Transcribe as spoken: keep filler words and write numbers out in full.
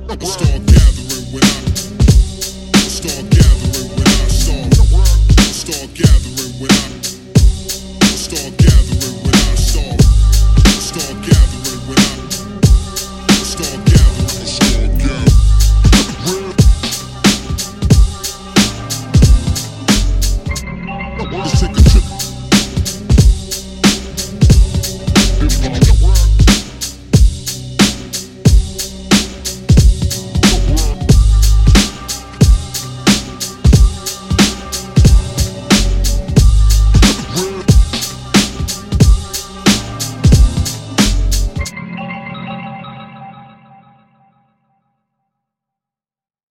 Start gathering when I start gathering when I start start gathering when I start gathering when I start start gathering when I start gathering start gathering. Let's take a trip. Hip hop.